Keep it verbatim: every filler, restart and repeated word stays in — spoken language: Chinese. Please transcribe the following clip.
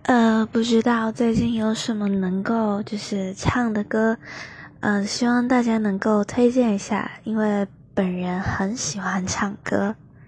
呃，不知道最近有什么能够就是唱的歌，呃，希望大家能够推荐一下，因为本人很喜欢唱歌。